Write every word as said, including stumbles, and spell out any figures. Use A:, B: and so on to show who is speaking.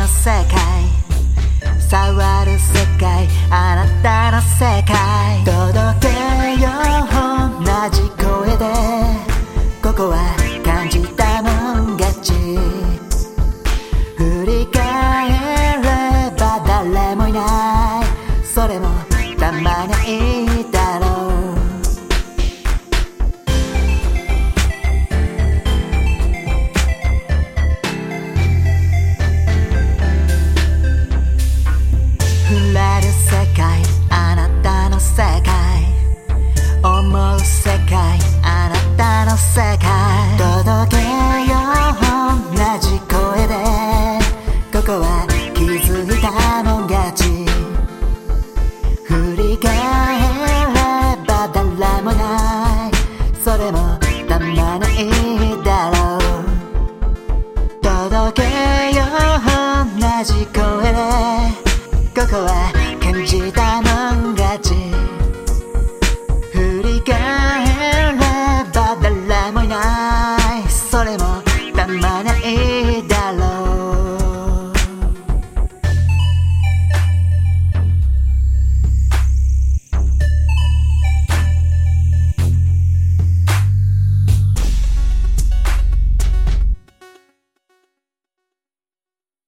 A: の世界触る世界あなたの世界届けよう同じ声でここは感じたもん勝ち振り返れば誰もいないそれもたまにいいだろう触れる世界あなたの世界思う世界あなたの世界届けよう同じ声でここは気づいたもん勝ち振り返れば誰もないそれもたまにいいだろう届け